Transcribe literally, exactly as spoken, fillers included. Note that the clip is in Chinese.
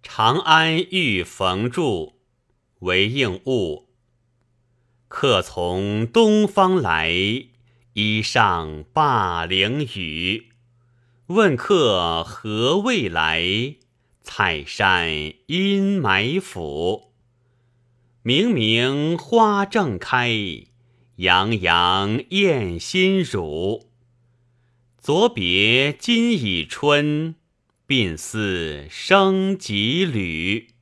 长安遇冯著，为应物。客从东方来，衣上灞陵雨。问客何未来？采山阴霾府。明明花正开，洋洋艳心乳。昨别今已春，鬓似生几缕。